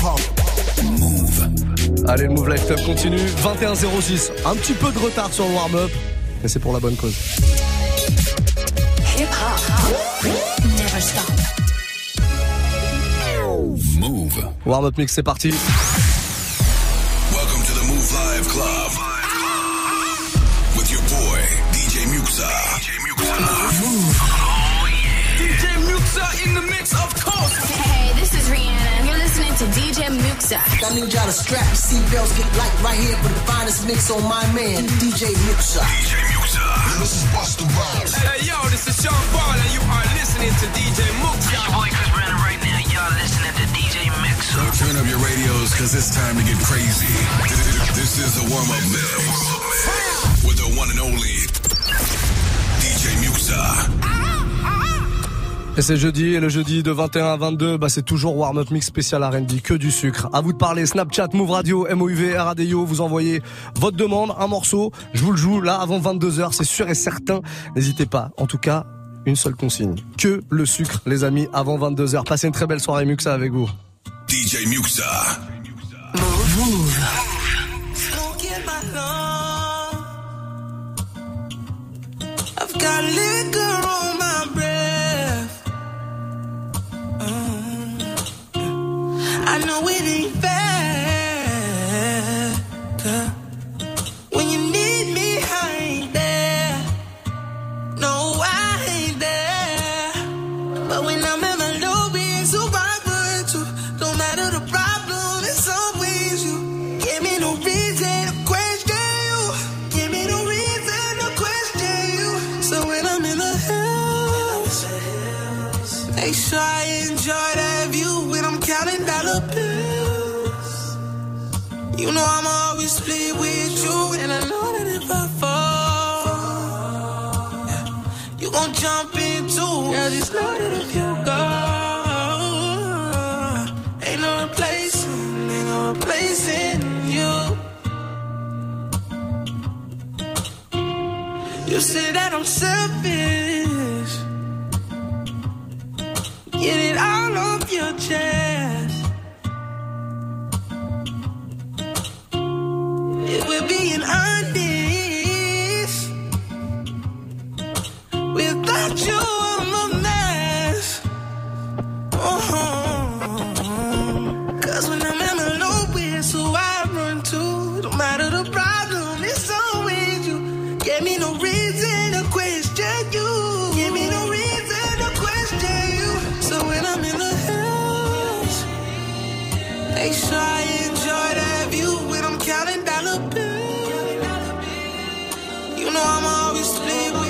Move. Allez, le Move Life Club continue. 21-06. Un petit peu de retard sur le warm-up, mais c'est pour la bonne cause. Hip hop. Never stop. Move. Warm-up mix, c'est parti. Welcome to the Move Live Club. With your boy, DJ Muxa. Move. Oh yeah. DJ Muxa in the mix, of course. Hey, this is Rihanna. You're listening to DJ Muxa. I need y'all to strap your seatbelts, get light right here for the finest mix on my man, DJ Muxa. DJ Muxa. This is Busta Rhymes. Hey, yo, this is Sean Paul, and you are listening to DJ Muxa. Your boy Chris Brandon right now. Y'all listening to DJ Muxa. So turn up your radios, cause it's time to get crazy. This is the warm-up mix. With the one and only DJ Muxa. Et c'est jeudi, et le jeudi de 21 à 22, c'est toujours Warm-Up Mix spécial R&B, que du sucre. À vous de parler, Snapchat, Move Radio, MOUV, RADIO, vous envoyez votre demande, un morceau, je vous le joue là avant 22h, c'est sûr et certain. N'hésitez pas, en tout cas, une seule consigne. Que le sucre, les amis, avant 22h. Passez une très belle soirée Muxa avec vous. DJ Muxa. Move. I've got liquor on my breath. I know it ain't fair. When you need me, I ain't there. No, I ain't there. But when I'm in my lobby, so vibrant too. Don't matter the problem, it's always you. Give me no reason to question you. Give me no reason to question you. So when I'm in the hills, make sure I enjoy that view. When I'm counting dollar bills, you know I'ma always split with you. And I know that if I fall, you gon' jump in too. Girl, just know that if you go, ain't no replacing you. You say that I'm selfish, get it all off your chest. If we're being honest, without you I'm a mess. Cause when I'm in the nowhere, so I run to. Don't matter the problem, it's always you. Give me no reason to question you. Give me no reason to question you. So when I'm in the hills, make sure I enjoy that view. When I'm counting dollar bills, you know I'm always split with.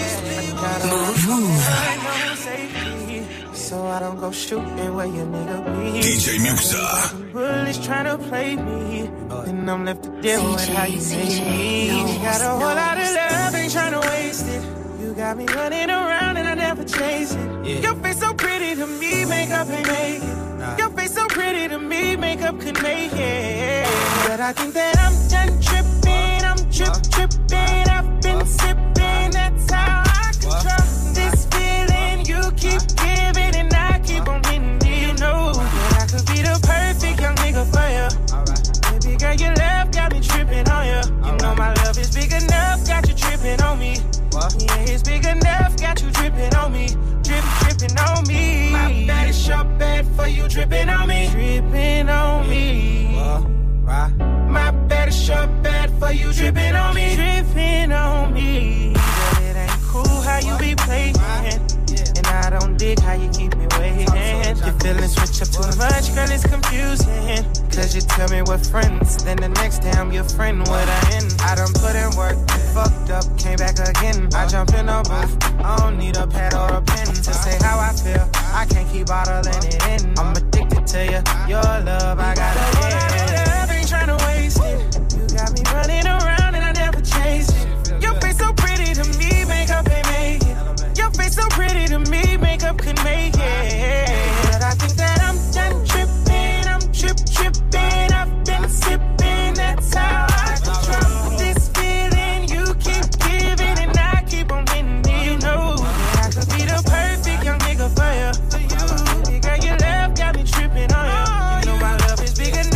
So I don't go shooting where your nigga be. DJ Muxa. Bullies trying to play me, and I'm left to deal with how you make me. You got a whole lot of love, ain't trying to waste it. You got me running around and I never chase it. Yeah. Your face so pretty to me, makeup ain't make it. Your face so pretty to me, makeup could make it. But I think that I'm done tripping, I'm tripping. I've been sipping, that's how I control this feeling. You keep giving and I keep on hitting. You know that I could be the perfect young nigga for you. Baby girl, your love got me tripping on you. You know my love is big enough, got you tripping on me. Yeah, it's big enough, got you dripping on me. Dripping on me. My bad is your bad for you dripping on me. Dripping on me. My bad is your bad for you dripping on me. Dripping on me. But it ain't cool how you be playing. And I don't dig how you keep me waiting. Your feelings switch up too much, girl, it's confusing. Cause you tell me we're friends, then the next day I'm your friend, what I end. I done put in work, fucked up, came back again. I jump in a booth, I don't need a pad or a pen to say how I feel. I can't keep bottling it in. I'm addicted to you, your love, I gotta get. Love ain't tryna waste it. You got me running around and I never chase it. Your face so pretty to me, makeup ain't make it. Your face so pretty to me, makeup could make it. But I think that I'm done tripping, I'm tripping. I've been sipping, that's how I control this feeling. You keep giving and I keep on hitting. You know that I could be the perfect young nigga for you. Baby girl, your love got me tripping on you. You know my love is big enough.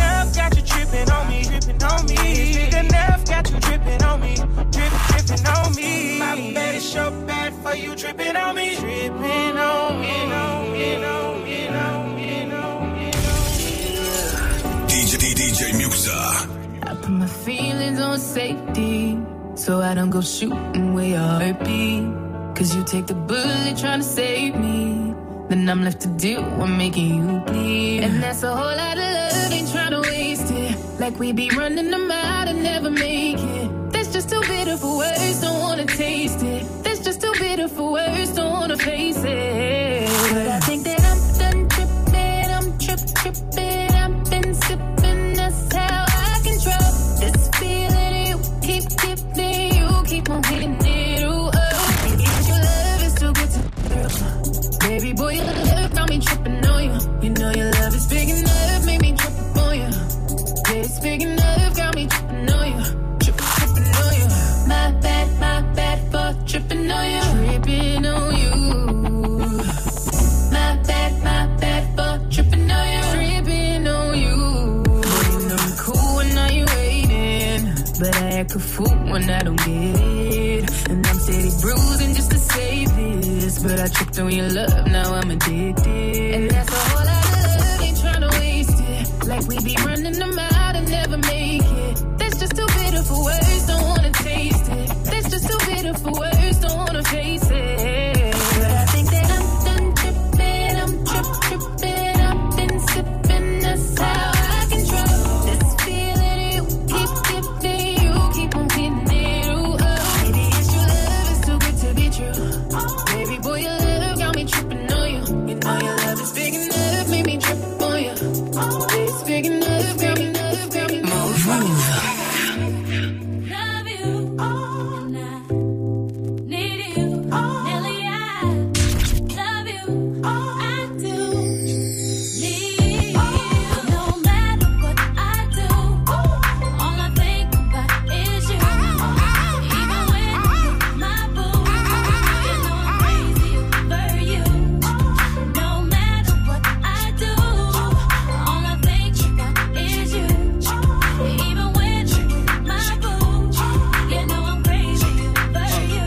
put my feelings on safety, so I don't go shooting where your heart beat. Cause you take the bullet trying to save me, then I'm left to deal with making you bleed. And that's a whole lot of love, ain't trying to waste it. Like we be running them out and never make it. That's just too bitter for words, don't wanna taste it. That's just too bitter for words, don't wanna face it. But I think that I'm done tripping, I'm tripping. I've been sipping, that's how I control this feeling you keep giving, you keep on hitting it. Ooh, oh, baby, your love is too good to baby boy, your love got me tripping on you. You know your love is big enough, made me trip on you. Yeah, it's big enough, got me tripping on you. Tripping on you. My bad for tripping on you. Tripping on you. My bad for tripping on you. Tripping on you. You know I'm cool when I ain't waiting, but I act a fool when I don't get it. And I'm steady bruising just to save this, but I tripped on your love, now I'm addicted. And that's a whole lot of love, ain't tryna waste it. Like we be running them out and never make it. That's just too bitter for words, don't wanna taste it. That's just too bitter for words, don't wanna face it. But I think that I'm done tripping, I'm tripping. I've been sipping, that's how I control this feeling you keep giving, you keep on hitting it. Ooh, oh, maybe it's your love, it's too good to be true. Baby boy, your love got me tripping on you. You know your love is big enough, made me trip on you. It's big enough, got me move. Love you, and I need you, Nelly. I love you, I do need you. No matter what I do, all I think about is you. Even when you're my boo, you know I'm crazy over you. No matter what I do, all I think about is you. Even when you're my boo, you know I'm crazy over you.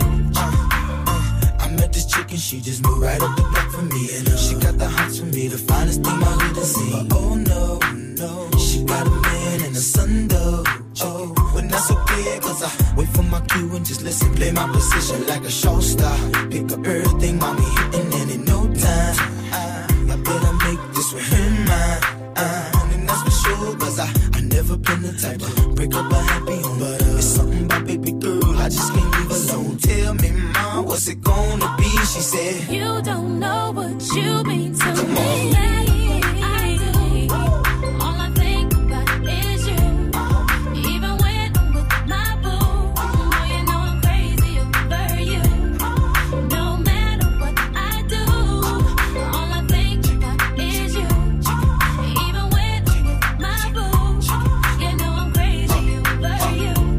I met this chick and she just moved right up the block for me. And she got the hots for me, the finest thing my hood has seen. But oh no, she got a man and a son though. Oh, but that's okay, cause I wait for my cue and just listen. Play my position like a show star. Pick up everything, mommy hitting, and in no time I better make this with her mine. And that's for sure, cause I never been the type to break up a happy home. But it's something about baby girl, I just can't leave alone. Tell me, mom, what's it gonna be? She said, You don't know what you mean to me. I do. All I think about is you. Even when I'm with my boo, oh, you know I'm crazy over you. No matter what I do, all I think about is you. Even when I'm with my boo, you know I'm crazy over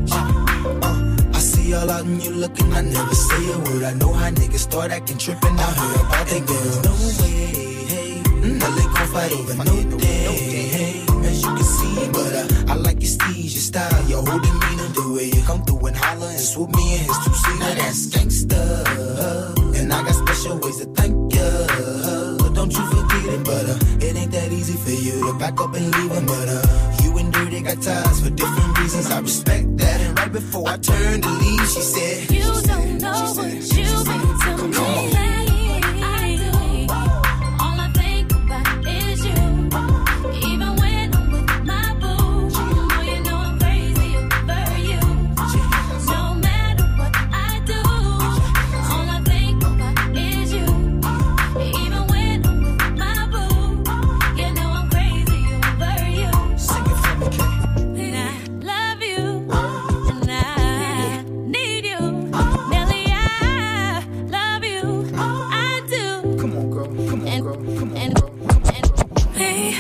you. I see all out and you looking, I never say a word. I know how niggas start acting trippin'. I heard about that girl. No way, hey, now they gon' fight over no day, hey, as you can see. But I like your steez, your style, your whole demeanor, the way you come through and holler and swoop me in his two-seater. Now that's gangsta, and I got special ways to thank ya. Don't you forget it, but it ain't that easy for you to back up and leave him. But you and Dirty got ties for different reasons. I respect that. And right before I turned to leave, she said, You don't know what you mean to me. I do. All I think about is you. Even when I'm with my boo, oh, you know I'm crazy over you. No matter what I do, all I think about is you. Even when I'm with my boo, you know I'm crazy over you. Sing it for me, Kay. And I love you, and I need you. Nelly, I love you, I do. Come on, girl. Come on, girl. Come on, And girl. hey,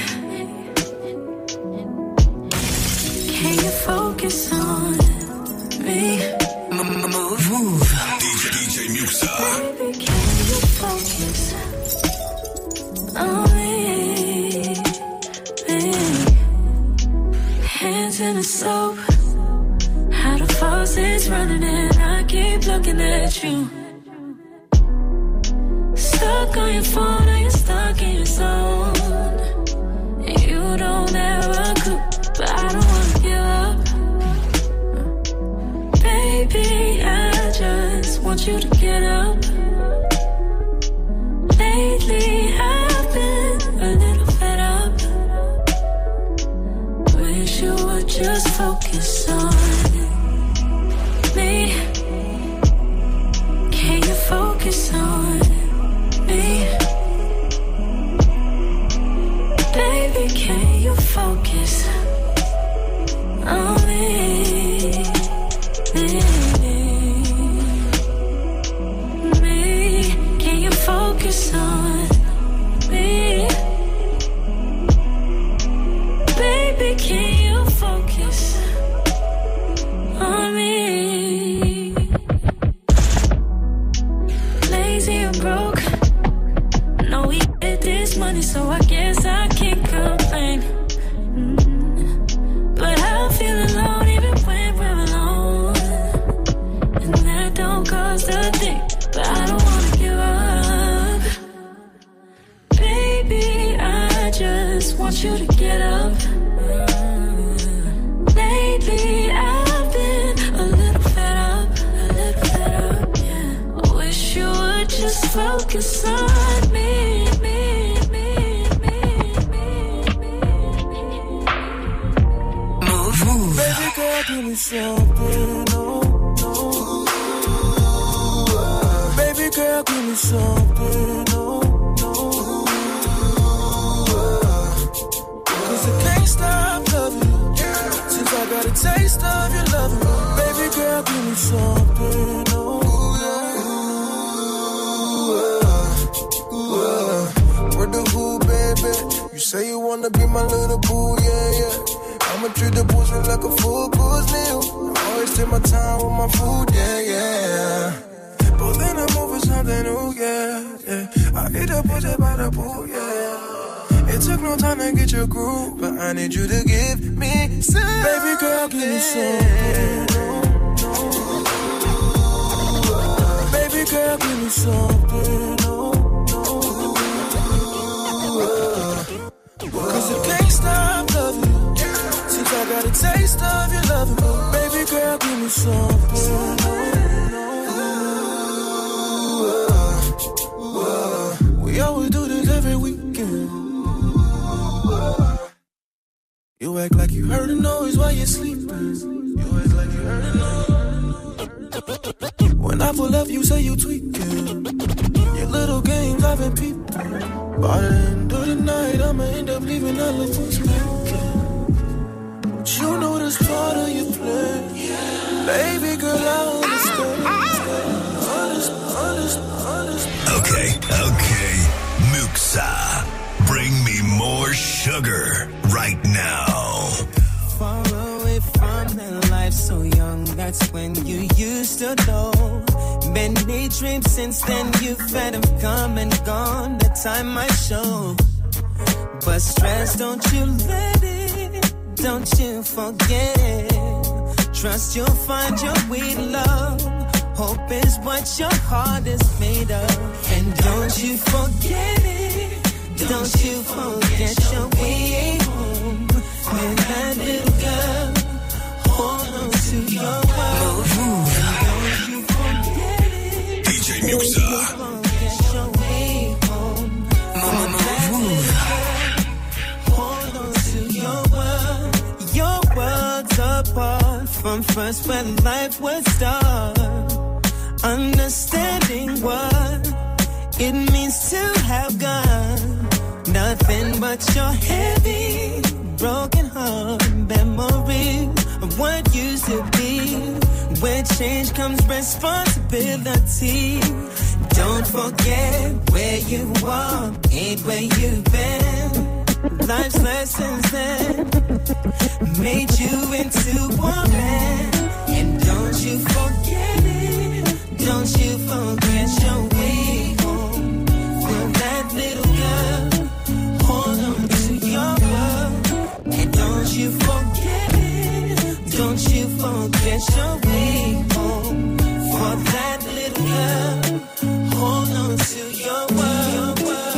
can you focus on me? Move. DJ Muxa. Baby, can you focus on me? Hands in the soap, how the faucet's running and I keep looking at you. Stuck on your phone or you're stuck in your zone. You don't ever cook, but I don't wanna give up. focus on me? Can you focus on me? Baby, can you focus on me? Me, can you focus on me? Baby, can you focus on me? Lazy or broke, no, we get this money, so I guess I can't complain. But I feel alone even when we're alone, and that don't cost a thing. But I don't wanna give up, baby. I just want you to get up. Lately I've been a little fed up, yeah. I wish you would just focus on me, me, me, me, me, me. Move. Baby girl, give me something, oh, oh. Baby girl, give me something, oh, oh. 'Cause I can't stop loving you since I got a taste of your love. Baby girl, give me something, oh, oh. Word the who, baby? You say you wanna be my little boo, yeah, yeah. I'ma treat the pussy like a full course meal. I always take my time with my food, yeah, yeah. But then I move for something new, yeah, yeah. I eat the pussy by the pool, yeah. It took no time to get your groove, but I need you to give me some. Baby girl, give me something. Baby girl, give me something. 'Cause I can't stop loving you since I got a taste of your loving. Baby girl, give me something. We always do this every weekend. You act like you heard a noise while you're sleeping. You act like you heard a noise. When I pull up, you say you tweaking. Your little games I've been peeping. By the end of the night, I'ma end up leaving elephants speaking. But you know that's part of your plan. Baby girl, I understand. Okay. Muxa, bring me more sugar right now. Far away from that life so young, that's when you used to know. Many dreams since then you've had them come and gone, the time might show. But stress, don't you let it, don't you forget it. Trust you'll find your way to love. Hope is what your heart is made of. And don't you forget it, don't you forget your way home. When that little girl, hold on to your world. Don't you forget it, DJ Muxa. forget your way home. When that little girl, hold on to your world. Your world's apart from first when life would start. Understanding what it means to have God. Nothing but your heavy, broken heart memories of what used to be. Where change comes responsibility. Don't forget where you are, ain't where you've been. Life's lessons then made you into a man. And don't you forget it, don't you forget your way home. For that little girl, hold on to your world. And don't you forget it, don't you forget your way home. For that little girl, hold on to your world.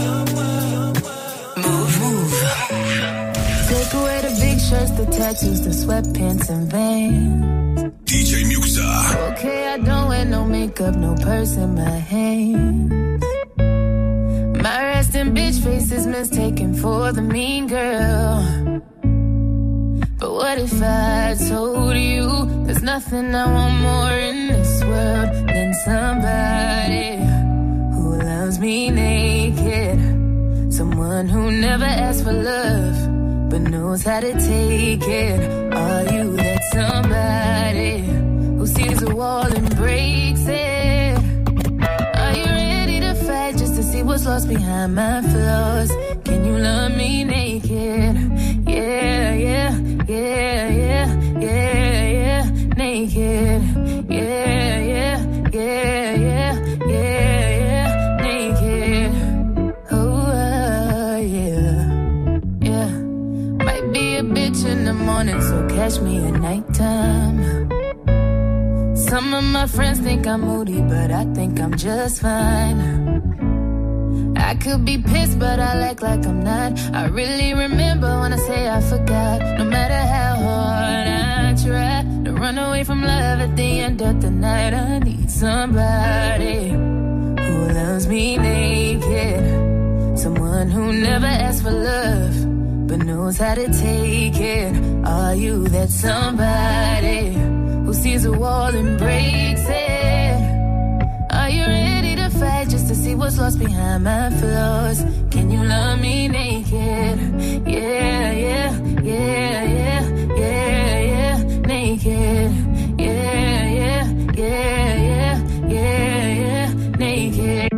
Move. Take away the big shirts, the tattoos, the sweatpants and Vans. DJ Muxa. Okay, I don't wear no makeup, no purse in my hand. My resting bitch face is mistaken for the mean girl. But what if I told you there's nothing I want more in this world than somebody who loves me naked? Someone who never asks for love but knows how to take it. Are you that somebody who sees a wall and breaks it? Are you ready to fight just to see what's lost behind my flaws? Can you love me naked? Yeah, yeah, yeah, yeah, yeah, yeah, naked. Yeah, yeah, yeah, yeah, yeah, yeah, naked. Oh, yeah, yeah. Might be a bitch in the morning, so catch me at nighttime. Some of my friends think I'm moody, but I think I'm just fine. I could be pissed, but I act like I'm not. I really remember when I say I forgot. No matter how hard I try to run away from love at the end of the night, I need somebody who loves me naked. Someone who never asks for love but knows how to take it. Are you that somebody who sees a wall and breaks it? Are you ready to fight just to see what's lost behind my flaws? Can you love me naked? Yeah, yeah, yeah, yeah, yeah, yeah, naked. Yeah, yeah, yeah, yeah, yeah, yeah, naked.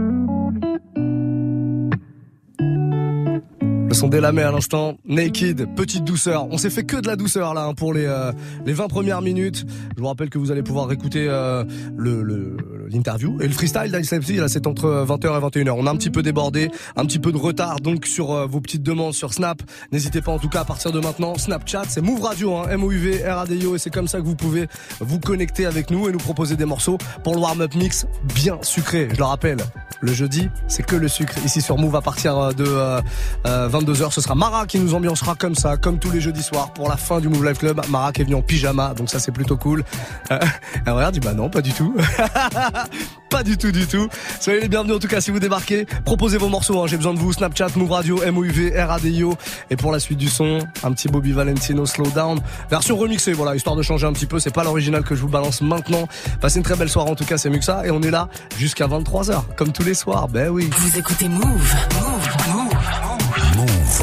Le son d'Elamé à l'instant, Naked, petite douceur. On s'est fait que de la douceur là pour les 20 premières minutes. Je vous rappelle que vous allez pouvoir écouter l'interview et le freestyle d'Ice MC. Là, c'est entre 20h et 21h. On a un petit peu débordé, un petit peu de retard donc sur vos petites demandes sur Snap. N'hésitez pas en tout cas à partir de maintenant. Snapchat, c'est Move Radio, hein, MOUV RADIO, et c'est comme ça que vous pouvez vous connecter avec nous et nous proposer des morceaux pour le warm-up mix bien sucré. Je le rappelle, le jeudi, c'est que le sucre ici sur Move à partir de 22h. Ce sera Mara qui nous ambiancera comme ça, comme tous les jeudis soirs pour la fin du Move Life Club. Mara qui est venue en pyjama, donc ça c'est plutôt cool. Elle regarde, dit bah non, pas du tout. Pas du tout, du tout. Soyez les bienvenus en tout cas si vous débarquez. Proposez vos morceaux, hein. J'ai besoin de vous. Snapchat, Move Radio, MOUV, RADIO. Et pour la suite du son, un petit Bobby Valentino Slow Down. Version remixée, voilà, histoire de changer un petit peu. C'est pas l'original que je vous balance maintenant. Passez une très belle soirée en tout cas, c'est Muxa. Et on est là jusqu'à 23h, comme tous les soirs. Ben oui. Vous écoutez Move. Move. Move. Move.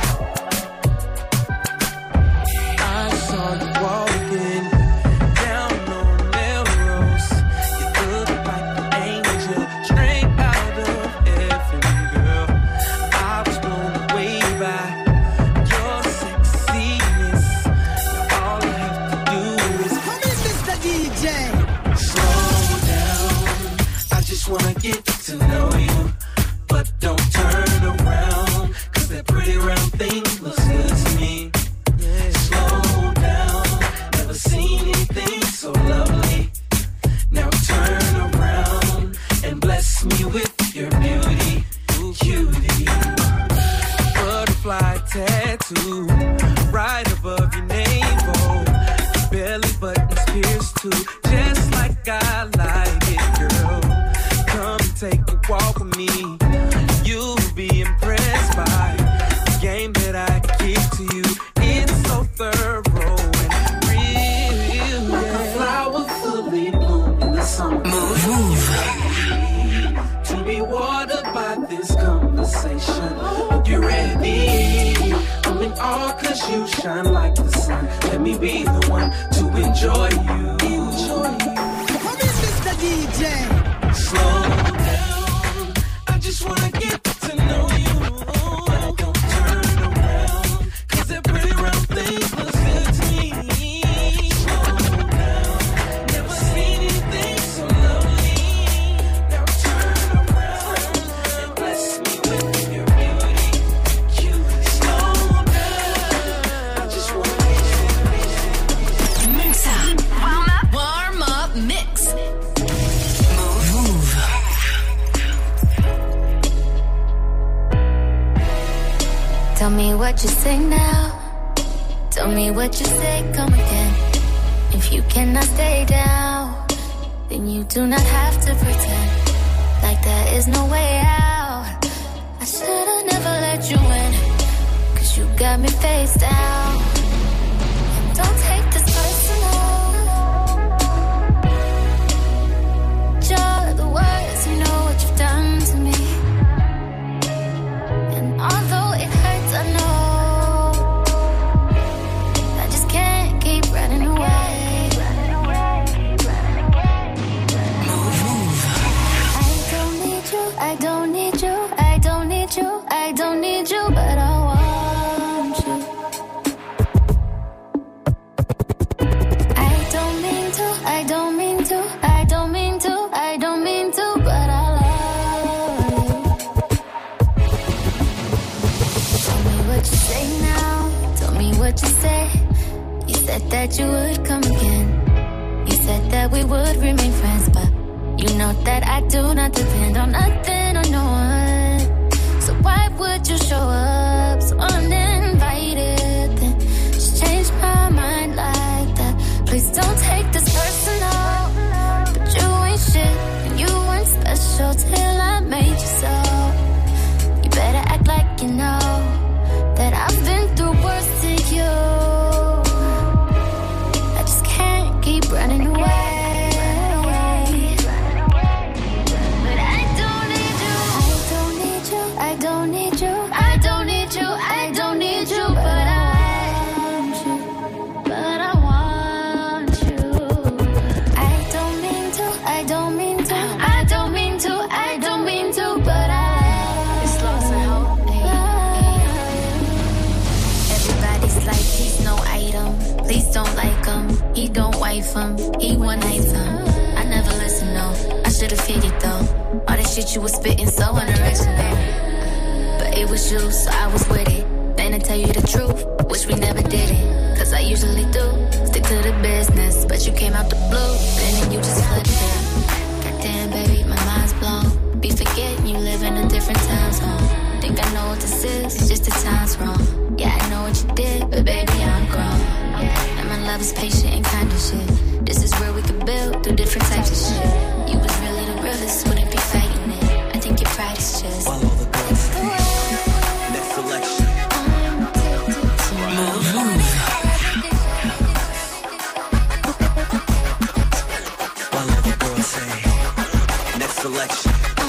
Wanna get to know you, but don't turn around, 'cause that pretty round thing looks good to me. Slow down, never seen anything so lovely. Now turn around and bless me with your beauty, cutie. Butterfly tattoo right above your navel, belly button's pierced too, just like I like it, girl. Come take a walk with me. You'll be impressed by the game that I give to you. It's so thorough and real. Like a flower fully bloomed in the summer. Move. To be watered by this conversation. Hope you're ready. I'm in awe 'cause you shine like the sun. Let me be the one to enjoy you. Come in, Mr. DJ. Slow down, I just wanna get to know you. But don't turn around, 'cause that pretty round thing looks good to me. Slow down, never seen anything so lovely. Now turn around and bless me with your beauty, cutie. Slow down, I just wanna Mix up. Warm up mix. Tell me what you say now. Tell me what you say, come again. If you cannot stay down, then you do not have to pretend like there is no way out. I should've never let you in, 'cause you got me face down. What you say now? Tell me what you said. You said that you would come again. You said that we would remain friends, but you know that I do not depend on nothing or no one. So why would you show up so uninvited? Then just change my mind like that. Please don't take this personal. But you ain't shit and you weren't special till I made you so. You better act like you know that I've been through worse to you. I just can't keep running away. Don't like him, he don't wife him, he one night him. I never listened, no, I should've figured though. All that shit you was spitting so unoriginal. But it was you, so I was with it. Then I tell you the truth, wish we never did it. Cause I usually do, stick to the business. But you came out the blue, then you just flipped it. Goddamn baby, my mind's blown. Be forgetting you live in a different time zone. Think I know what this is, it's just the time's wrong. Yeah, I know what you did, but baby, I'm grown. And my love is patient and kind of shit. This is where we could build through different types of shit. You was really the realest, wouldn't be fighting it. I think your pride is just all over the girls. Next selection. All over the girls say next selection.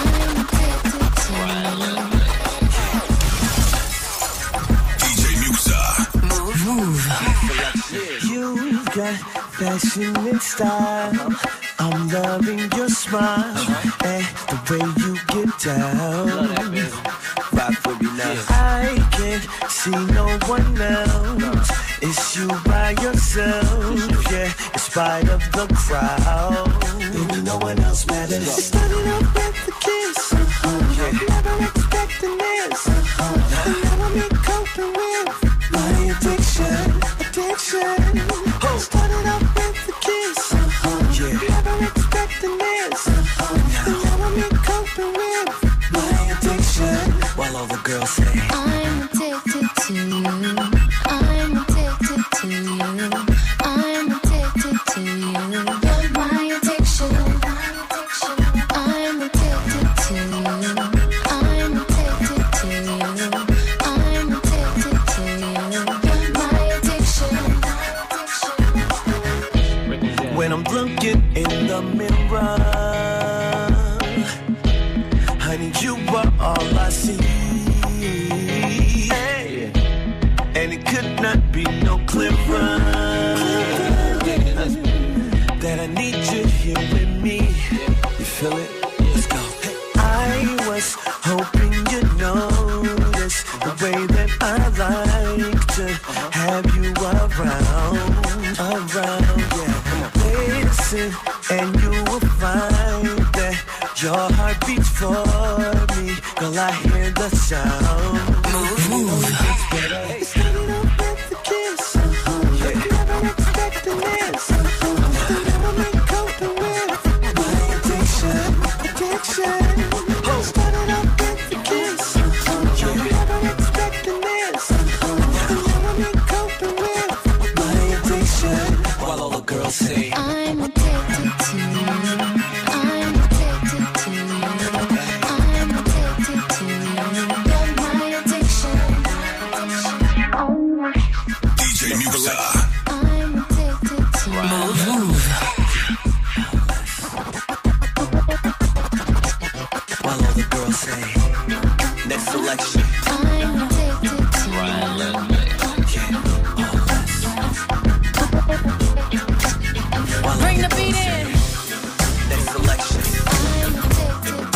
You've got fashion and style. I'm loving your smile and the way you get down. Rock for me now. I can't see no one else. It's you by yourself, yeah. In spite of the crowd, baby, no one else matters. It started off with a kiss. Never expecting this. And now I'm coping with my addiction. Started off with a kiss. Never expecting this. And now I'm coping with my addiction. While all the girls say I'm addicted to you. I'm addicted to you. I'm addicted to you. You're my addiction. I'm addicted to you. I'm addicted to you. I'm addicted to you. You're my addiction. When I'm looking in the mirror, honey, you are all I see. Hey. And it could not be no clearer that I need you here with me. You feel it? Let's go. I was hoping you'd notice the way that I like to have you around, yeah. Listen, and you will find that your heart beats for me. Girl, I hear the sound. Move. It started off with a kiss. Never expecting this. Never been coping with my addiction. Started off with a kiss. Never expecting this. Never been coping with my addiction. While all the girls say I'm addicted to you. I'm addicted to you. I'm addicted to you. You're my addiction. DJ Musa. I'm addicted to you. Move. while all the girls say next selection. I'm addicted to you. Bring the beat in. Next selection. I'm addicted to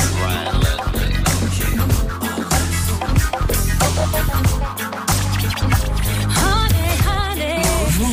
Honey, honey.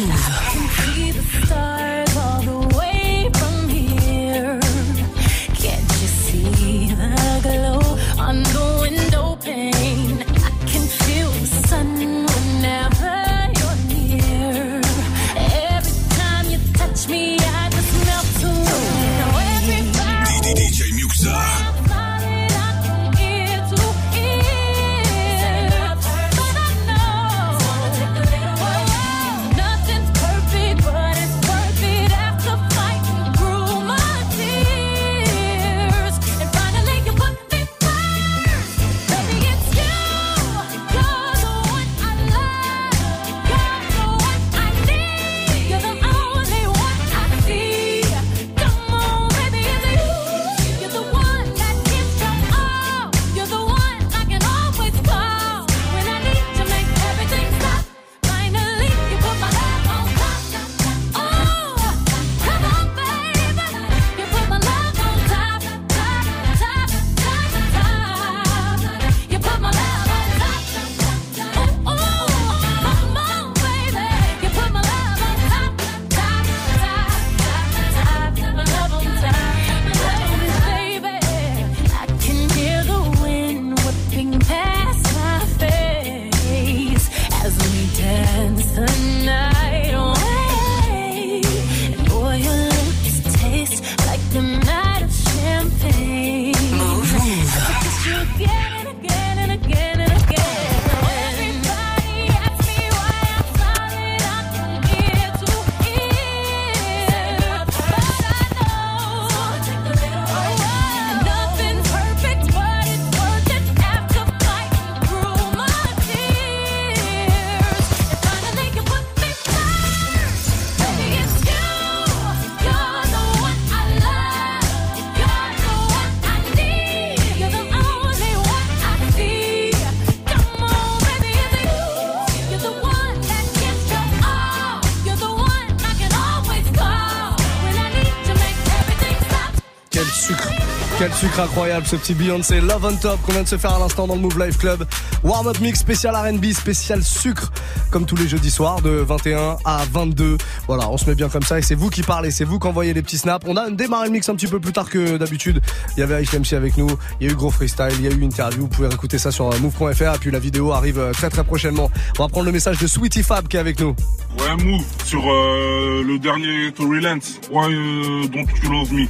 Quel sucre incroyable, ce petit Beyoncé Love on Top qu'on vient de se faire à l'instant dans le Move Life Club. Warm-up mix spécial R&B, spécial sucre, comme tous les jeudis soirs de 21 à 22. Voilà, on se met bien comme ça et c'est vous qui parlez, c'est vous qui envoyez les petits snaps. On a démarré le mix un petit peu plus tard que d'habitude. Il y avait Aïch MC avec nous, il y a eu gros freestyle, il y a eu interview. Vous pouvez écouter ça sur move.fr et puis la vidéo arrive très très prochainement. On va prendre le message de Sweetie Fab qui est avec nous. Ouais, Move, sur le dernier Tory Lanez. Why don't you love me?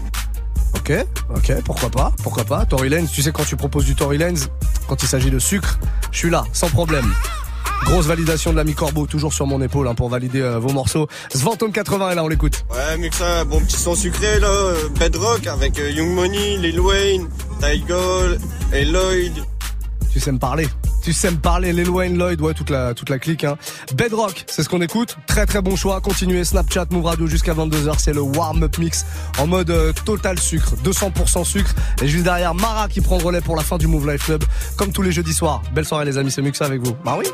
Ok, pourquoi pas. Tory Lanez, tu sais, quand tu proposes du Tory Lanez, quand il s'agit de sucre, je suis là, sans problème. Grosse validation de l'ami Corbeau, toujours sur mon épaule hein, pour valider vos morceaux. Svantom 80 est là, on l'écoute. Ouais, mieux que ça, bon petit son sucré là, Bedrock avec Young Money, Lil Wayne, Tyga et Lloyd. Tu sais me parler, Lil Wayne, Lloyd, ouais, toute la clique, hein. Bedrock, c'est ce qu'on écoute. Très très bon choix. Continuez, Snapchat, Move Radio jusqu'à 22h. C'est le warm-up mix en mode total sucre, 200% sucre. Et juste derrière, Mara qui prend le relais pour la fin du Move Life Club. Comme tous les jeudis soirs. Belle soirée les amis, c'est Muxa avec vous. Bah oui.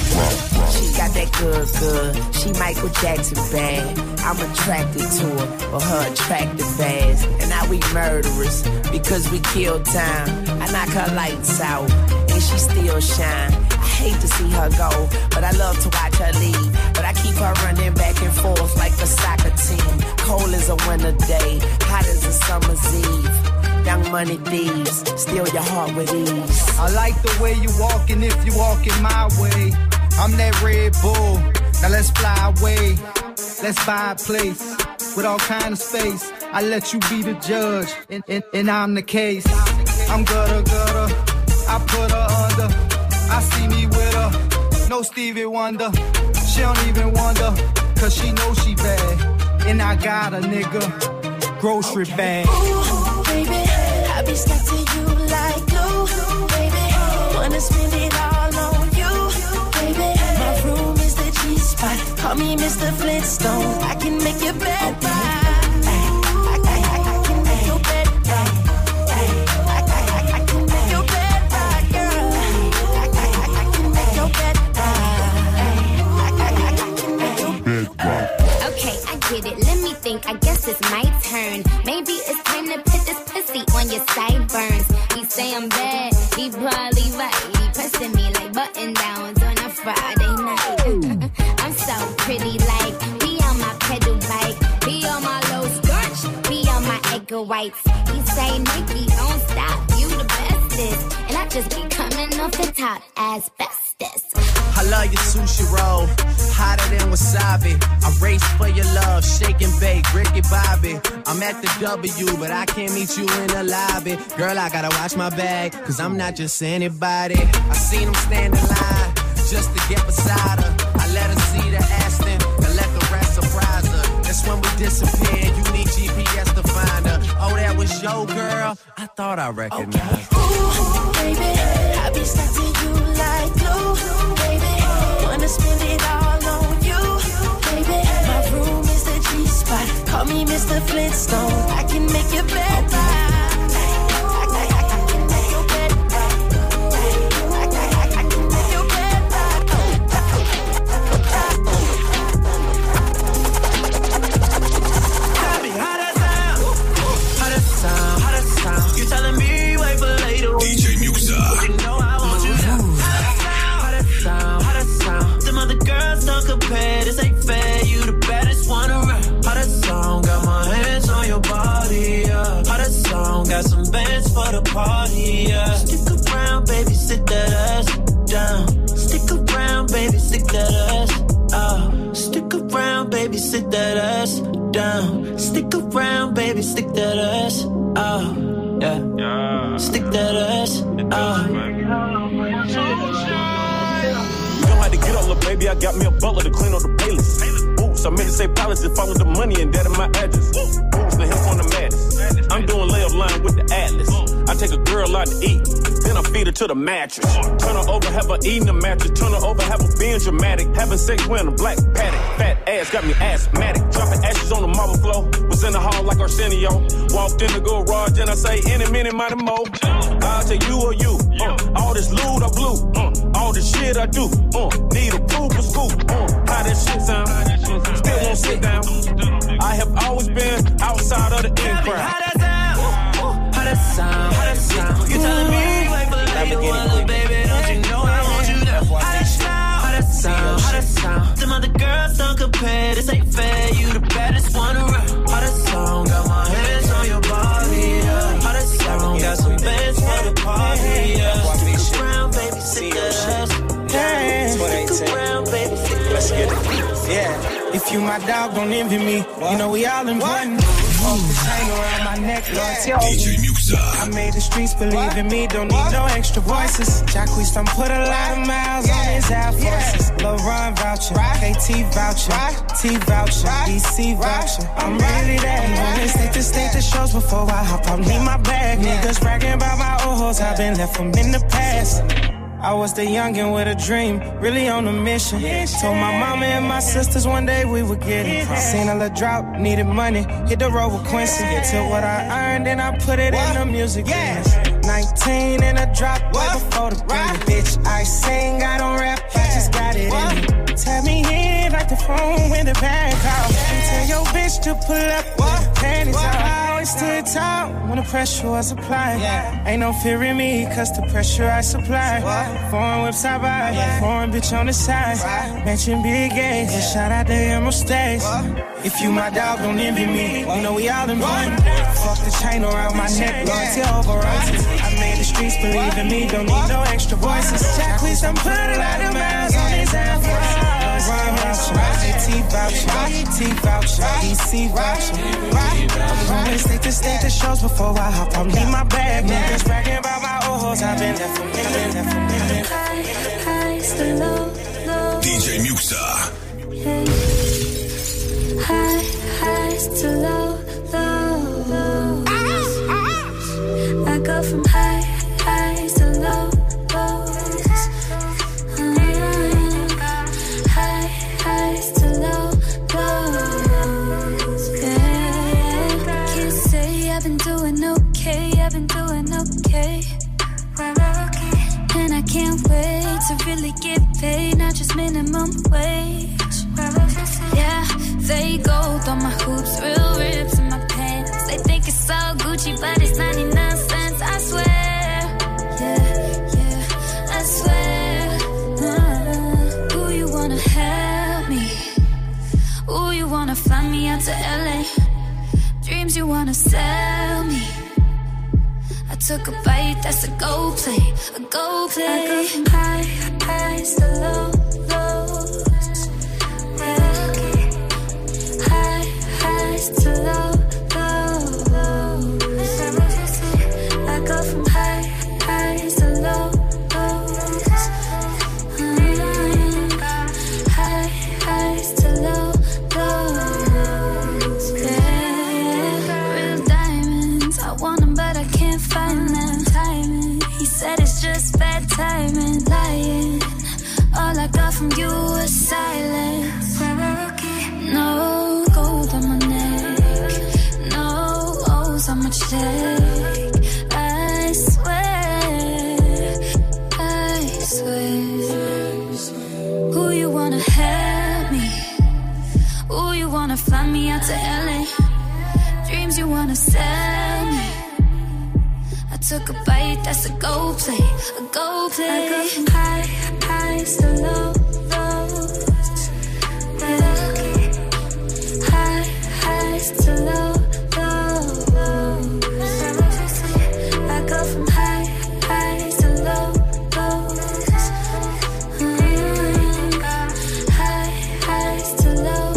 She got that good. She Michael Jackson bad. I'm attracted to her, but her attractive ass. And now we murderers because we kill time. I knock her lights out. And she still shine. I hate to see her go, but I love to watch her leave. But I keep her running back and forth like a soccer team. Cold as a winter day, hot as a summer's eve. Young money thieves, steal your heart with ease. I like the way you walking if you walking my way. I'm that Red Bull, now let's fly away. Let's buy a place with all kind of space. I let you be the judge, and I'm the case. I'm gutter. I put her under. I see me with her. No Stevie Wonder. She don't even wonder. Cause she knows she bad. And I got a nigga. Grocery bag. Ooh, baby, I be stuck to you like glue. Baby, wanna spend it all on you. Baby, my room is the G-spot. Call me Mr. Flintstone. I can make your bed right. I guess it's my turn. Maybe it's time to put this pussy on your sideburns. He say I'm bad, he probably right. He pressing me like button downs on a Friday night. I'm so pretty, like be on my pedal bike, be on my low starch, be on my egg whites. He say Nikki, don't stop, you the bestest, and I just be coming off the top as bestest. I love your sushi roll, hotter than wasabi. I race for your love, shake and bake, Ricky Bobby. I'm at the W, but I can't meet you in the lobby. Girl, I gotta watch my bag, cause I'm not just anybody. I seen him stand in line, just to get beside her. I let her see the Aston, and let the rest surprise her. That's when we disappear, you need GPS to find her. Oh, that was your girl? I thought I recognized her. Ooh, baby, I be stuck to you like glue. Wanna spend it all on you, baby. My room is the G-spot. Call me Mr. Flintstone. I can make your bed right. This ain't fair, you the baddest one around. Hottest song, got my hands on your body, yeah. Hottest song, got some bands for the party, yeah. Stick around, baby, sit that ass down. Stick around, baby, stick that ass. Stick around, baby, sit that ass down. Stick around, baby, stick that ass. Yeah. Stick that ass. To get on, baby, I got me a butler to clean up the playlist. Oops, I meant to say palace to follow the money and that in my address. Oops, the hip on the madness. I'm doing layup line with the Atlas. I take a girl out to eat, then I feed her to the mattress. Turn her over, have her eating the mattress. Turn her over, have her being dramatic. Having sex wearing a black paddock. Fat ass got me asthmatic. Dropping ashes on the marble floor. Was in the hall like Arsenio. Walked in the garage and I say, any minute, mighty mo. I'll take you or you. All this loot I blew. All this shit I do. Need a proof for school. How that shit sound? Still won't sit down. I have always been outside of the in crowd. How that sound? hottest sound. Them other girls don't compare, this ain't fair. You the baddest one around. Hottest sound, got my hands on your body, yeah. Hottest sound, got some bands for the party, yeah. Stick around, baby, sit down. Stick around, baby, sit down. Let's get it. Yeah. If you my dog, don't envy me. You know we all important. Off the chain around my neck, loyalty over. DJ Muxa. I made the streets believe in me. Don't need no extra voices. Jacquees done put a lot of miles on his Air Forces. Lil Ron voucher, KT voucher, T voucher, DC voucher. I'm really that. Only state to state the shows before I hop out. Need my bag. Niggas bragging about my old hoes. I've been left from in the past. I was the youngin' with a dream, really on a mission. Told my mama and my sisters one day we would get it. Seen a little drought, needed money, hit the road with Quincy. Took what I earned and I put it in the music business. 19 and a drop way before the Grammy. Bitch, I sing, I don't rap, I just got it in me. Tap me in like the phone when the bag call. Tell your bitch to pull up with the panties out. I always stood tall when the pressure was applied. Ain't no fear in me, cause the pressure I supply. Foreign whips I buy, foreign bitch on the side. Mention big A's, and shout out to Emerald Stays. If you my dog, don't envy me. You know we all in one. Fuck the chain around my neck, loyalty over royalties. I made the streets believe in me, don't need no extra voices. Jacquees done put a lot of miles on his Air Force. Ron voucher, T voucher, T voucher, DC voucher. I'm going state to state the shows before I hop out. Need my bag, niggas bragging about my old hoes. I've been there for me. Highs to low, low. DJ Muxa. Highs to low, low. I go from highs to low, lows. Highs to low, lows. Yeah. Can't say I've been doing okay. I've been doing okay. And I can't wait to really get paid, not just minimum wage. Yeah, they gold on my hoops, real rips in my pants. They think it's all Gucci, but it's 99 cents, I swear. Yeah, I swear. Ooh, you wanna help me? Ooh, you wanna fly me out to LA? Dreams you wanna sell me? I took a bite, that's a go play, a go play. I go from highs to low, lows. Highs to low, lows. I go from highs to low, lows. Highs to low, lows. Yeah. Real diamonds, I want them but I can't find them. Timing, he said it's just bad timing. Lying, all I got from you was silence. No gold on my neck, no O's on my check. I swear. Who you wanna help me? Who you wanna fly me out to LA? Dreams you wanna sell me? I took a bite, that's a go play, a go play. I go from highs to low, lows. Highs to low, lows. I go from highs to low, lows. Highs to low,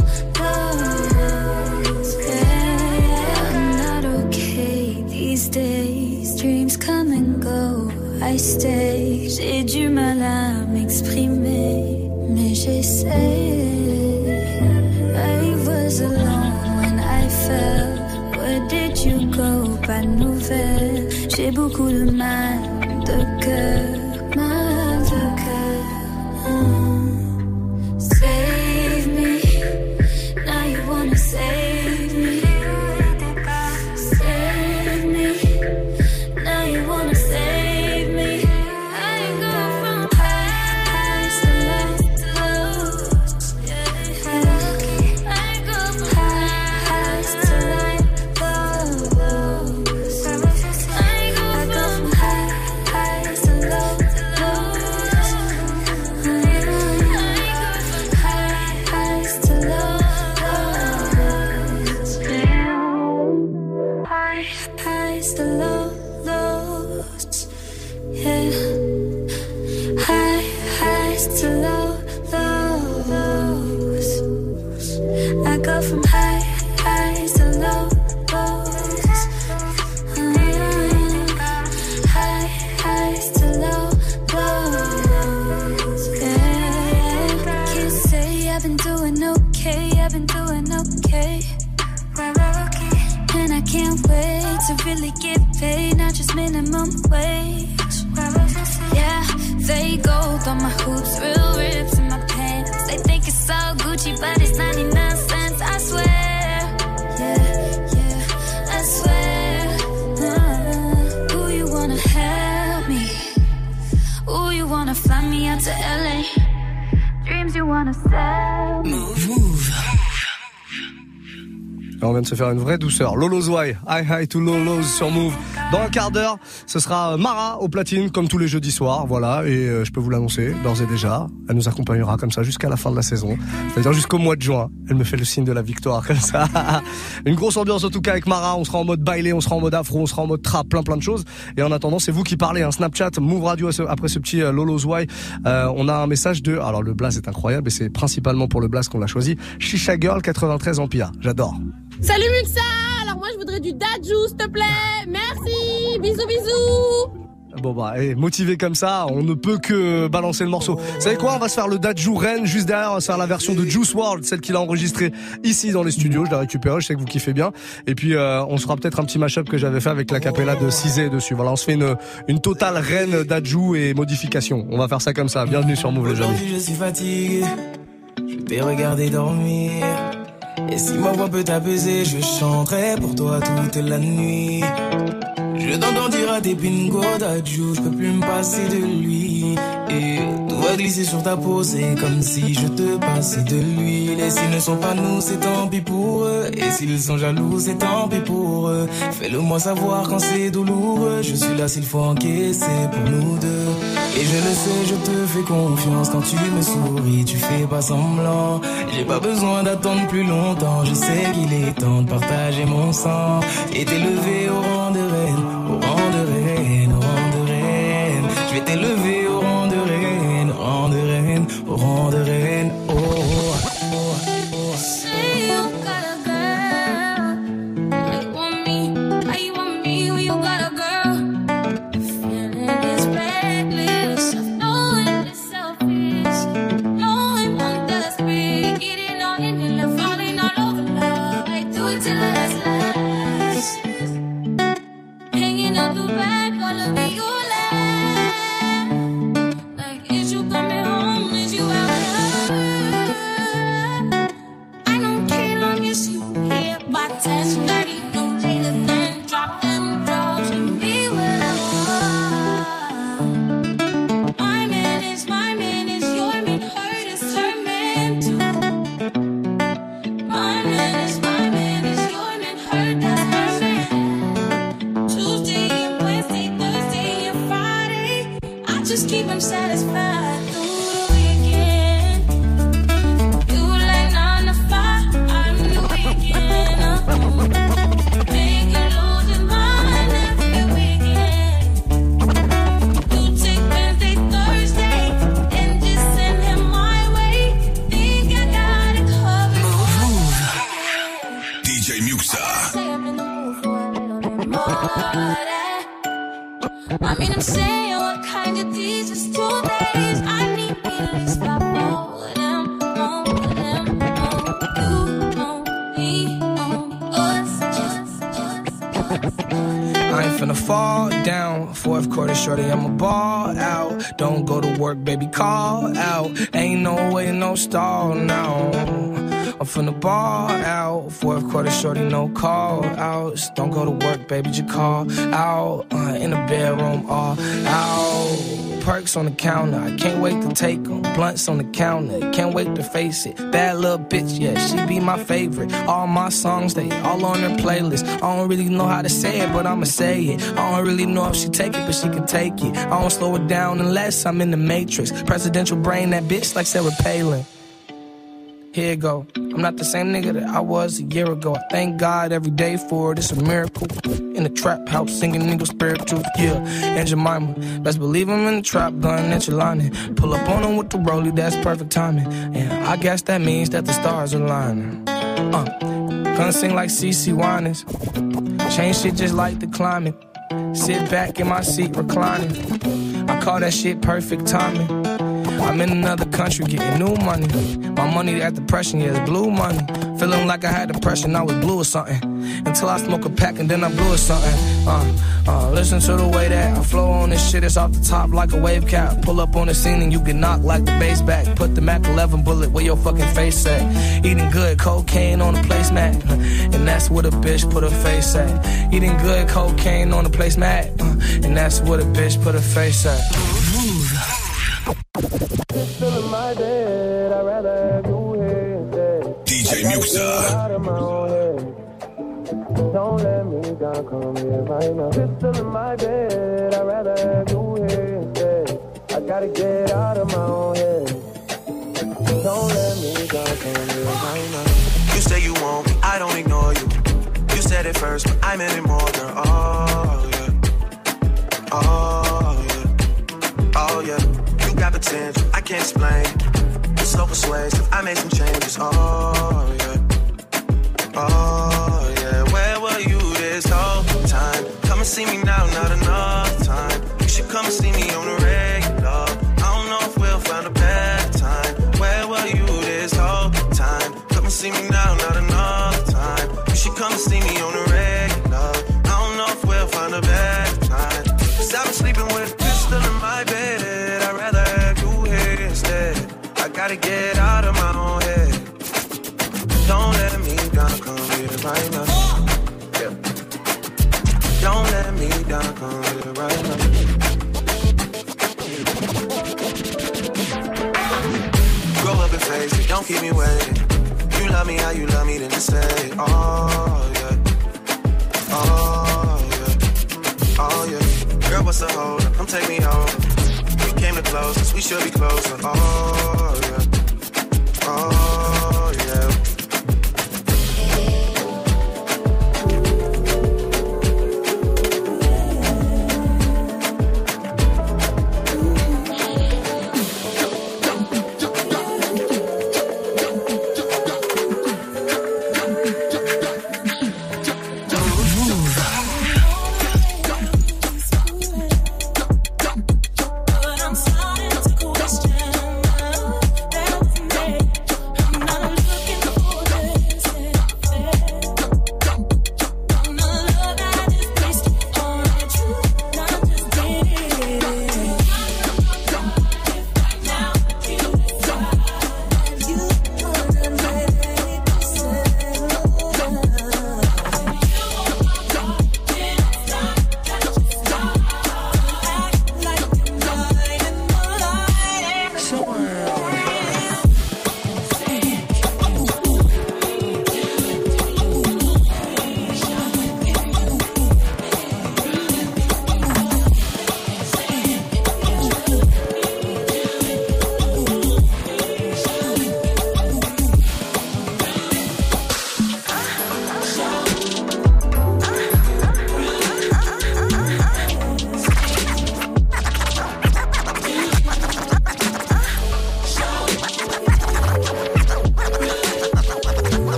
lows. Yeah, I'm not okay these days. Dreams come and go, I stay. J'ai du mal à m'exprimer, mais j'essaie. I was alone when I fell. Where did you go? Pas de nouvelles. J'ai beaucoup de mal de cœur, mal de cœur. Save me, now you wanna save me. Save me, now you wanna save me. I go from highs to lows. I go from highs to lows. I go from highs to lows. I've been doing okay, I've been doing okay. And I can't wait to really get paid, not just minimum wage. Yeah, fake gold on my hoops, real rips in my pants. They think it's all Gucci, but it's 99 cents, I swear. Yeah, I swear. Ooh, you wanna help me? Ooh, you wanna fly me out to LA? Dreams you wanna sell? Move. Et on vient de se faire une vraie douceur. Lolo's Why, hi to Lolo's sur Move. Dans un quart d'heure, ce sera Mara au platine, comme tous les jeudis soirs, voilà. Et je peux vous l'annoncer, d'ores et déjà. Elle nous accompagnera comme ça jusqu'à la fin de la saison. C'est-à-dire jusqu'au mois de juin. Elle me fait le signe de la victoire, comme ça. Une grosse ambiance en tout cas avec Mara. On sera en mode bailé, on sera en mode afro, on sera en mode trap, plein de choses. Et en attendant, c'est vous qui parlez, hein. Snapchat, Move Radio, après ce petit Lolo's Why. On a un message de, alors le blaze est incroyable et c'est principalement pour le blaze qu'on l'a choisi. Shisha Girl 93 Empire. J'adore. Salut Muxa. Alors moi je voudrais du Dadju s'il te plaît. Merci. Bisous bisous. Bon bah, motivé comme ça, on ne peut que balancer le morceau. Vous savez quoi, on va se faire le Dadju Ren juste derrière, on va se faire la version de Juice WRLD, celle qu'il a enregistrée ici dans les studios. Je l'ai récupérée, je sais que vous kiffez bien. Et puis on se fera peut-être un petit mashup que j'avais fait avec la capella de Cizé dessus. Voilà, on se fait une totale Ren Dadju et modification. On va faire ça comme ça. Bienvenue sur Move les amis. Aujourd'hui je suis fatigué, je t'ai regardé dormir. Et si ma voix peut t'apaiser, je chanterai pour toi toute la nuit. Je t'entends dire à tes pingos d'adjou, je peux plus me passer de lui. Et tout va glisser sur ta peau, c'est comme si je te passais de l'huile. Et s'ils ne sont pas nous, c'est tant pis pour eux. Et s'ils sont jaloux, c'est tant pis pour eux. Fais-le moi savoir quand c'est douloureux. Je suis là s'il faut encaisser pour nous deux. Et je le sais, je te fais confiance. Quand tu me souris, tu fais pas semblant. J'ai pas besoin d'attendre plus longtemps. Je sais qu'il est temps de partager mon sang et t'élever au rang de reine, au rang de reine, au rang de reine. Je vais t'élever au rang de reine, au rang de reine, au rang de reine. Oh, oh, oh, oh. Say you got a girl, how you want me, how you want me when you got a girl. Feeling this reckless, knowing it's selfish, knowing I'm desperate, getting all in and love, falling all over love. I do it till it's last, hanging out the back, all of me you left. Like is you coming home, is you out? I don't care long as you here by 10:30, no later than drop them drugs and be what I want. My man is your man, hurt is her man too. My man is your man, hurt that's her man. Tuesday and Wednesday, Thursday and Friday, I just keep him satisfied through the weekend. You like 9 to 5, I'm the weekend. Make you lose your mind every weekend. You take Wednesday, Thursday, and just send him my way. Think I got it covered. DJ Muxa. Say I'm in the mood for a little bit more of that. I mean, I'm saying what kind of these is 2 days. I need me at least 5 more of them, more of them, more. You, on me, on us. I ain't finna fall down. Fourth quarter, shorty, I'ma ball out. Don't go to work, baby, call out. Ain't no way, no stall now. I'm finna ball out. Fourth quarter, shorty, no call outs. Don't go to work, baby, just call out. In the bedroom, all out. Perks on the counter, I can't wait to take them. Blunts on the counter, can't wait to face it. Bad little bitch, yeah, she be my favorite. All my songs, they all on her playlist. I don't really know how to say it, but I'ma say it. I don't really know if she take it, but she can take it. I don't slow it down unless I'm in the Matrix. Presidential brain, that bitch like Sarah Palin. Here it go. I'm not the same nigga that I was a year ago. I thank God every day for it. It's a miracle. In the trap house, singing nigga spiritual. Yeah, and Jemima. Best believe I'm in the trap, gun at your lining. Pull up on him with the rollie, that's perfect timing. And I guess that means that the stars are lining. Gonna sing like CeCe Winans. Change shit just like the climate. Sit back in my seat reclining. I call that shit perfect timing. I'm in another country getting new money. My money at depression, yeah, it's blue money. Feeling like I had depression, I was blue or something. Until I smoke a pack and then I blew or something. Listen to the way that I flow on this shit, it's off the top like a wave cap. Pull up on the scene and you get knocked like the bass back. Put the Mac 11 bullet where your fucking face at. Eating good cocaine on the placemat, and that's where the bitch put her face at. Eating good cocaine on the placemat, and that's where the bitch put her face at. Still in my bed, I'd rather have you here instead. DJ Muxa. Don't let me down, come here right now. Still in my bed, I'd rather have you here instead. I gotta get out of my own head. Don't let me down, come here right now. You say you want me, I don't ignore you. You said it first, but I meant it more, girl. Oh, yeah. Oh, yeah. Oh, yeah. You got potential, I can't explain. You're so persuasive, I made some changes. Oh, yeah. Oh, yeah. Where were you this whole time? Come and see me now, not enough time. You should come and see me on the regular. I don't know if we'll find a better time. Where were you this whole time? Come and see me now, not enough time. You should come and see me on the regular. I don't know if we'll find a better time. Cause I've been sleeping with a pistol in my bed. I'd rather have you here instead. I gotta get out of my own head. Don't let me down, come here right now. Yeah. Don't let me down, come here right now. Grow up and face it, don't keep me waiting. You love me how you love me, then just say it. Oh, yeah. Oh, yeah. Oh, yeah. Girl, what's the hold up? Come take me home. We came the closest, we should be closer. Oh, yeah. Oh, yeah.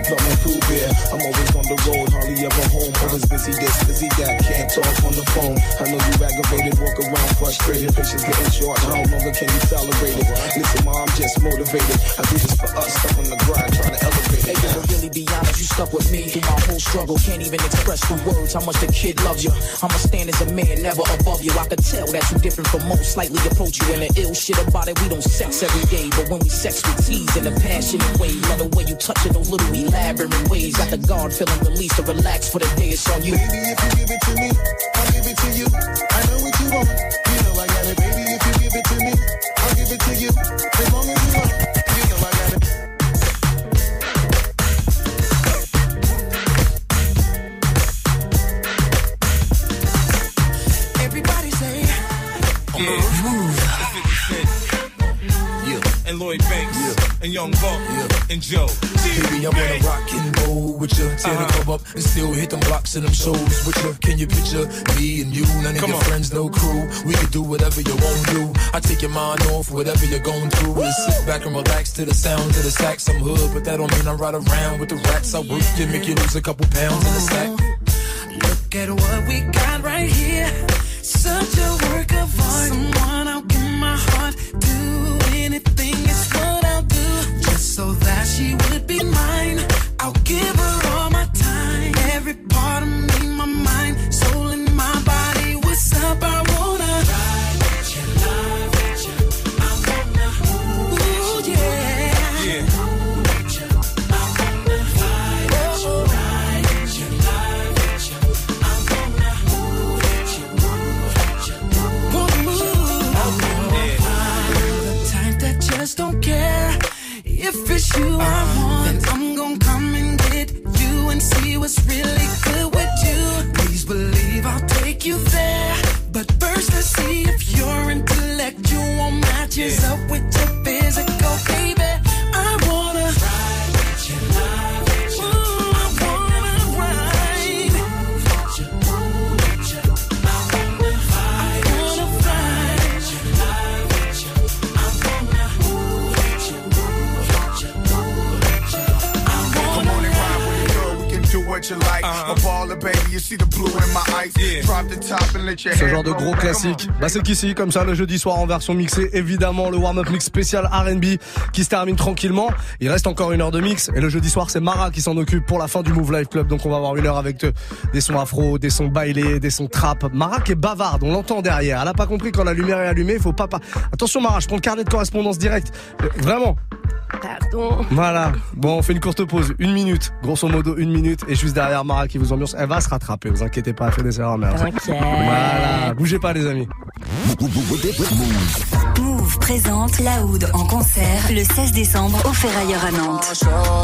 plug my food beer. I'm always on the road, hardly ever home. Always busy this, busy that, can't talk on the phone. I know you aggravated, walk around frustrated. Patience getting short, how longer can you tolerate it? Listen, Ma, I'm just motivated. I do this for us, stuck on the grind, trying to elevate it. Hey, to really be honest, you stuck with me through my whole struggle. Can't even express through words how much the kid loves you. I'ma stand as a man, never above you. I can tell that you different from most, slightly approach you. And the ill shit about it, we don't sex every day, but when we sex, we tease in a passionate way. Love the way you touch it, those little elaborate ways. Got the guard feeling released to relax for the day. It's on you. Baby, if you give it to me, I'll give it to you. I know what you want. You know I got it, baby. If you give it to me, I'll give it to you. As long as you want, you know I got it. Everybody say, Move. And Lloyd Banks, and Young Buck, and Joe. Baby, I wanna rock and roll with you. Tear the club up and still hit them blocks and them shows with you. Can you picture me and you? None of your friends, no crew. We can do whatever you want to do. I take your mind off whatever you're going through. We'll sit back and relax to the sound of the sax. I'm hood, but that don't mean I ride around with the rats. I work you, make you lose a couple pounds in the sack. Look at what we got right here. Such a work of art. Someone I'll give my heart. Do anything is what I'll do. Just so that she would be mine. I'll give her all my time. Every part of me, my mind, soul and my body. What's up? I wanna ride with you, love with you. I wanna, ooh yeah. Yeah. Just don't care if it's you I want. Then I'm gonna come and get you and see what's really good with you. Please believe I'll take you there. But first let's see if your intellectual matches up with your physical, baby. I wanna ride with you, love with you. Ooh, I wanna ride with you, move with you. I wanna ride with you, love with you. I wanna move with you, move with you, move with you. I Come on and ride with me, girl. We can do what you like. A baller, baby. You see the blue in my eyes. Drop the top and let your Ce hair genre de gros classique, bah c'est qu'ici, comme ça, le jeudi soir en version mixée, évidemment, le warm-up mix spécial R&B qui se termine tranquillement. Il reste encore une heure de mix et le jeudi soir, c'est Mara qui s'en occupe pour la fin du Move Life Club. Donc on va avoir une heure avec des sons afro, des sons bailés, des sons trap. Mara qui est bavarde, on l'entend derrière. Elle a pas compris quand la lumière est allumée, faut pas. Attention Mara, je prends le carnet de correspondance direct. Vraiment. Pardon. Voilà. Bon, on fait une courte pause, 1 minute, grosso modo 1 minute, et juste derrière Mara qui vous ambiance. Elle va se rattraper, vous inquiétez pas, elle fait des erreurs, mais voilà, bougez pas les amis. Move présente Laoud en concert le 16 décembre au Ferrailleur à Nantes.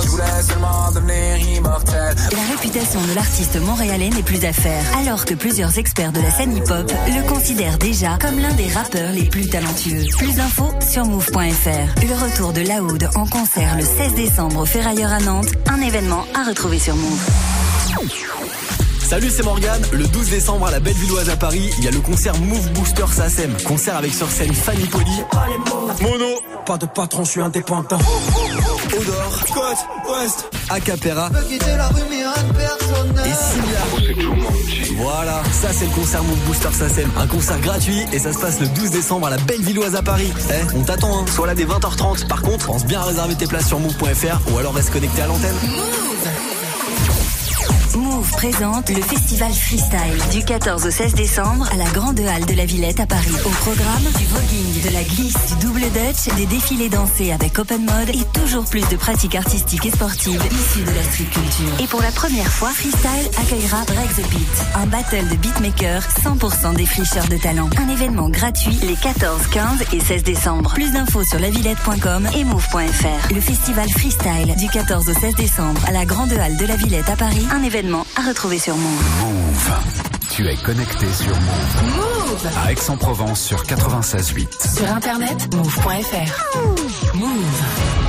La réputation de l'artiste montréalais n'est plus à faire, alors que plusieurs experts de la scène hip-hop le considèrent déjà comme l'un des rappeurs les plus talentueux. Plus d'infos sur move.fr. Le retour de Laoud en concert le 16 décembre au Ferrailleur à Nantes, un événement à retrouver sur Move. Salut, c'est Morgane. Le 12 décembre à la Bellevilloise à Paris, il y a le concert Move Booster SACEM. Concert avec sur scène Fanny Poli, Mono, pas de patron, je suis indépendant. Odor, Côte, Ouest, Acapera et Simia. Voilà, ça c'est le concert Move Booster SACEM. Un concert gratuit et ça se passe le 12 décembre à la Bellevilloise à Paris. On t'attend, hein. Sois là dès 20h30. Par contre, pense bien à réserver tes places sur move.fr ou alors reste connecté à l'antenne. Move présente le festival Freestyle du 14 au 16 décembre à la Grande Halle de la Villette à Paris. Au programme, du voguing, de la glisse, du double dutch, des défilés dansés avec open mode et toujours plus de pratiques artistiques et sportives issues de la street culture. Et pour la première fois, Freestyle accueillera Break the Beat, un battle de beatmakers 100% défricheurs de talent. Un événement gratuit les 14, 15 et 16 décembre. Plus d'infos sur lavillette.com et move.fr. Le festival Freestyle du 14 au 16 décembre à la Grande Halle de la Villette à Paris. Un événement à retrouver sur Move. Move. Tu es connecté sur Move. Move. À Aix-en-Provence sur 96.8. Sur internet, move.fr. Move.